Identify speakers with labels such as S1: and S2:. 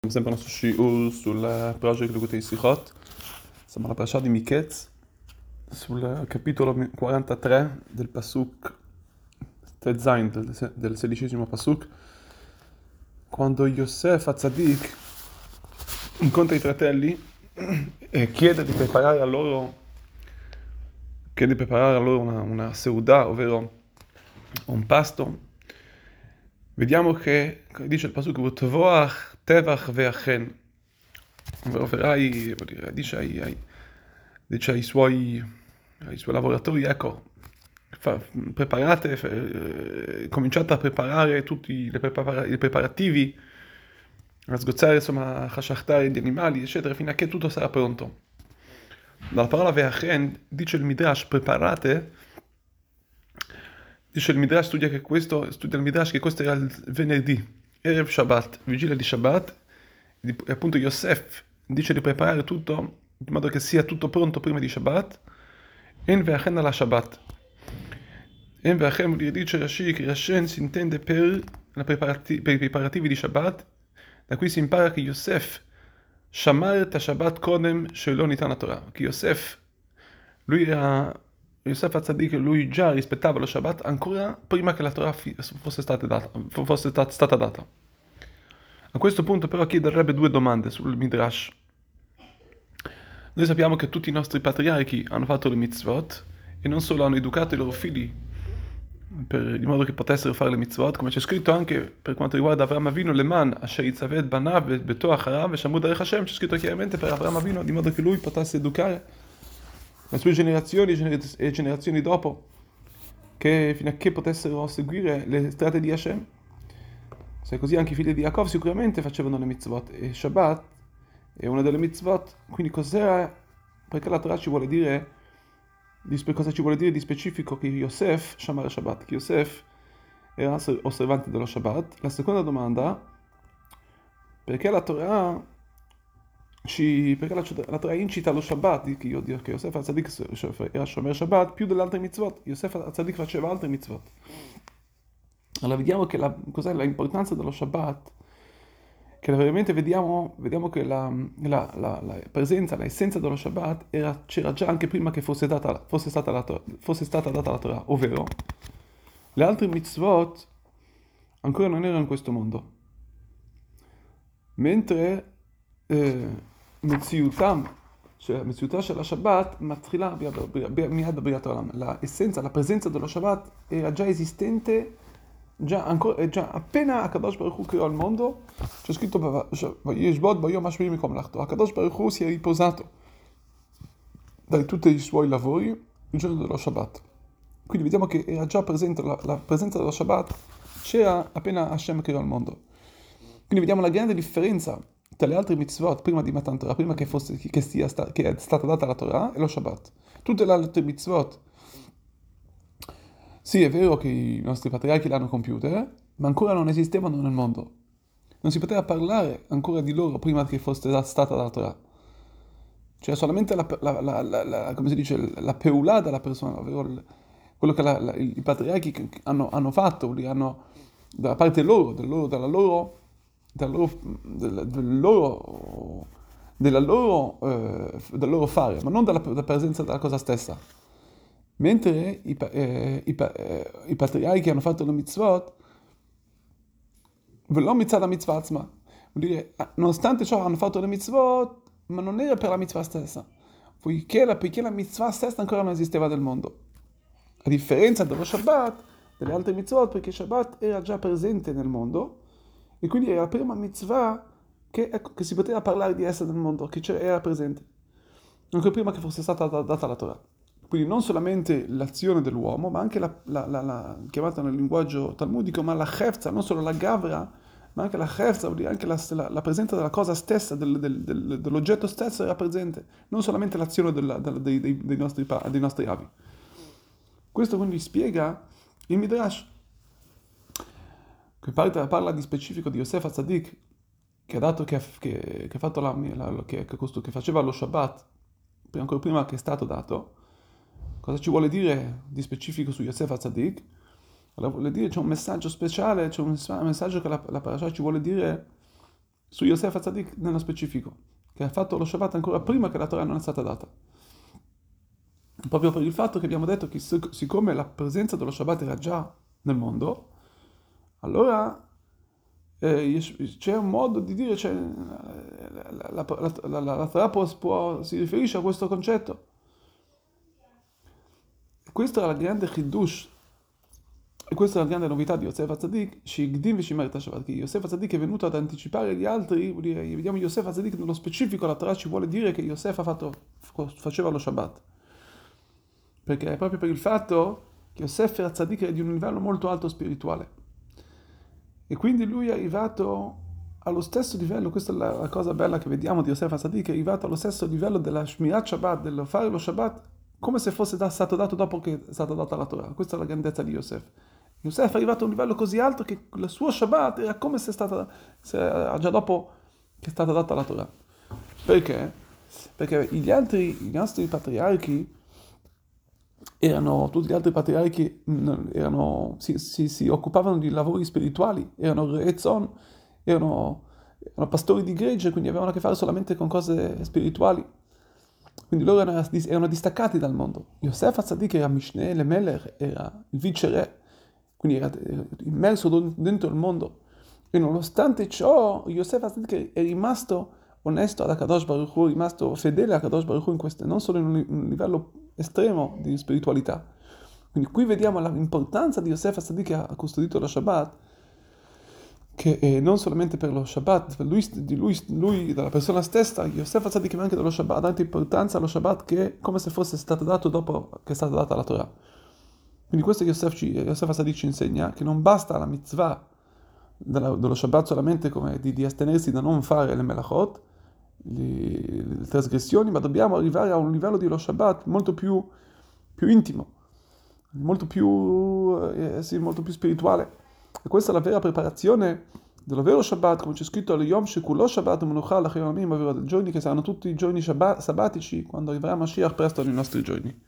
S1: Sempre il nostro shiur sul project Likutei Sichot. Siamo alla parasha di Miketz, sul capitolo 43 del Pasuk Tezain, del 16° Pasuk, quando Yosef HaTzadik incontra i fratelli e chiede di preparare a loro una seudah, ovvero un pasto. Vediamo che dice il Pasuk V'tovoach tevach ve'achen, ovvero dice ai suoi lavoratori, ecco, cominciate a preparare tutti i preparativi, a sgozzare, insomma, a hashachtare gli animali, eccetera, fino a che tutto sarà pronto. Dalla parola ve'achen dice il Midrash, preparate. Dice il Midrash, studia il Midrash che questo era il venerdì, Erev Shabbat, vigilia di Shabbat, e appunto Yosef dice di preparare tutto in modo che sia tutto pronto prima di Shabbat. En ve'achen alla Shabbat. En ve'achen dice Rashi che Rashen si intende per i preparativi di Shabbat, da cui si impara che Yosef shamar ta Shabbat kodem shelo nitan Torah, che Yosef HaTzadik, lui già rispettava lo Shabbat ancora prima che la Torah fosse stata data. A questo punto però chiederebbe due domande sul Midrash. Noi sappiamo che tutti i nostri patriarchi hanno fatto le mitzvot e non solo hanno educato i loro figli in modo che potessero fare le mitzvot, come c'è scritto anche per quanto riguarda Avraham Avinu, Leman asher yitzaved banav beto acharav veshamru derech Hashem, c'è scritto chiaramente per Avraham Avinu, di modo che lui potesse educare le sue generazioni e generazioni dopo, che fino a che potessero seguire le strade di Hashem. Se così anche i figli di Yaakov sicuramente facevano le mitzvot, e Shabbat è una delle mitzvot. Quindi perché la Torah ci vuole dire, cosa ci vuole dire di specifico che Yosef shamar Shabbat, che Yosef era osservante dello Shabbat? La seconda domanda, perché la Torah incita allo Shabbat, che Yosef HaTzadik era shomer Shabbat più delle altre mitzvot. Yosef HaTzadik faceva altre mitzvot. Allora vediamo che cos'è l'importanza dello Shabbat, che veramente vediamo che la presenza, l'essenza dello Shabbat c'era già anche prima che fosse stata data la Torah, ovvero le altre mitzvot ancora non erano in questo mondo, mentre מציאותה של השבת מתחילה מיד בריאת העולם. l'essenza, la presenza dello Shabbat era già esistente, già appena הקדוש ברוך הוא creò il mondo. C'è scritto וישבות ביום השביעי מקום מלאכתו. הקדוש ברוך הוא si è riposato da tutti i suoi lavori il giorno dello Shabbat. Quindi vediamo che era già presente, la presenza dello Shabbat c'era appena Hashem creò il mondo. Quindi vediamo la grande differenza tra le altre mitzvot prima di Matan Torah, prima che è stata data la Torah, e lo Shabbat. Tutte le altre mitzvot, sì, è vero che i nostri patriarchi le hanno compiute, ma ancora non esistevano nel mondo. Non si poteva parlare ancora di loro prima che fosse stata la Torah. Cioè solamente come si dice, la peulà della persona, ovvero quello che i patriarchi hanno fatto, da parte loro, del loro fare, ma non dalla presenza della cosa stessa. Mentre i patriarchi hanno fatto le mitzvot, ולא מצד המצווה עצמה. Vuol dire, nonostante ciò hanno fatto le mitzvot, ma non era per la mitzvah stessa, poiché la mitzvah stessa ancora non esisteva nel mondo. A differenza dello Shabbat, delle altre mitzvot, perché Shabbat era già presente nel mondo, e quindi era la prima mitzvah che si poteva parlare di essere nel mondo, che era presente, anche prima che fosse stata data la Torah. Quindi non solamente l'azione dell'uomo, ma anche la chiamata nel linguaggio talmudico, ma la chefza, non solo la gavra, ma anche la chefza, vuol dire anche la presenza della cosa stessa, dell'oggetto stesso era presente, non solamente l'azione dei nostri avi. Questo quindi spiega il Midrash, che parla di specifico di Yosef HaTzadik, che faceva lo Shabbat, ancora prima che è stato dato. Cosa ci vuole dire di specifico su Yosef HaTzadik? Allora vuole dire, c'è un messaggio speciale, c'è un messaggio che la parasha ci vuole dire su Yosef HaTzadik nello specifico, che ha fatto lo Shabbat ancora prima che la Torah non è stata data. Proprio per il fatto che abbiamo detto che siccome la presenza dello Shabbat era già nel mondo, allora c'è un modo di dire, cioè, la Torah si riferisce a questo concetto. Questa è la grande Chidush, e questa è la grande novità di Yosef HaTzadik, Shigdim v'Shimeret HaShabbat, che Yosef HaTzadik è venuto ad anticipare gli altri, vuol dire, vediamo Yosef HaTzadik nello specifico, la Torah ci vuole dire che Yosef faceva lo Shabbat. Perché è proprio per il fatto che Yosef HaTzadik è di un livello molto alto spirituale. E quindi lui è arrivato allo stesso livello, questa è la cosa bella che vediamo di Yosef HaTzadik, è arrivato allo stesso livello della Shmirat Shabbat, dello fare lo Shabbat, come se fosse stato dato dopo che è stata data la Torah. Questa è la grandezza di Yosef. Yosef è arrivato a un livello così alto che il suo Shabbat era come se già dopo che è stata data la Torah. Perché? Perché i nostri patriarchi tutti gli altri patriarchi si occupavano di lavori spirituali, erano re'ezzon, erano pastori di gregge, quindi avevano a che fare solamente con cose spirituali. Quindi loro erano distaccati dal mondo. Yosef HaTzadik era Mishneh Lemelech, era il vice re, quindi era immerso dentro il mondo. E nonostante ciò, Yosef HaTzadik è rimasto onesto ad Akadosh Baruch Hu, è rimasto fedele a Akadosh Baruch Hu non solo in un livello estremo di spiritualità. Quindi qui vediamo l'importanza di Yosef HaTzadik che ha custodito lo Shabbat, che non solamente per lo Shabbat, per lui dalla persona stessa, Yosef HaTzadik ma anche dello Shabbat, ha dato importanza allo Shabbat che è come se fosse stato dato dopo che è stata data la Torah. Quindi questo Yosef HaTzadik ci insegna che non basta la mitzvah dello Shabbat solamente come di astenersi da non fare le melachot, le trasgressioni, ma dobbiamo arrivare a un livello di lo Shabbat molto più intimo, molto più spirituale. E questa è la vera preparazione dello vero Shabbat, come c'è scritto al Yom Shekulo Shabbat Menucha L'Achim Amim, ovvero giorni che saranno tutti i giorni sabbatici, quando arriverà Mashiach presto nei nostri giorni.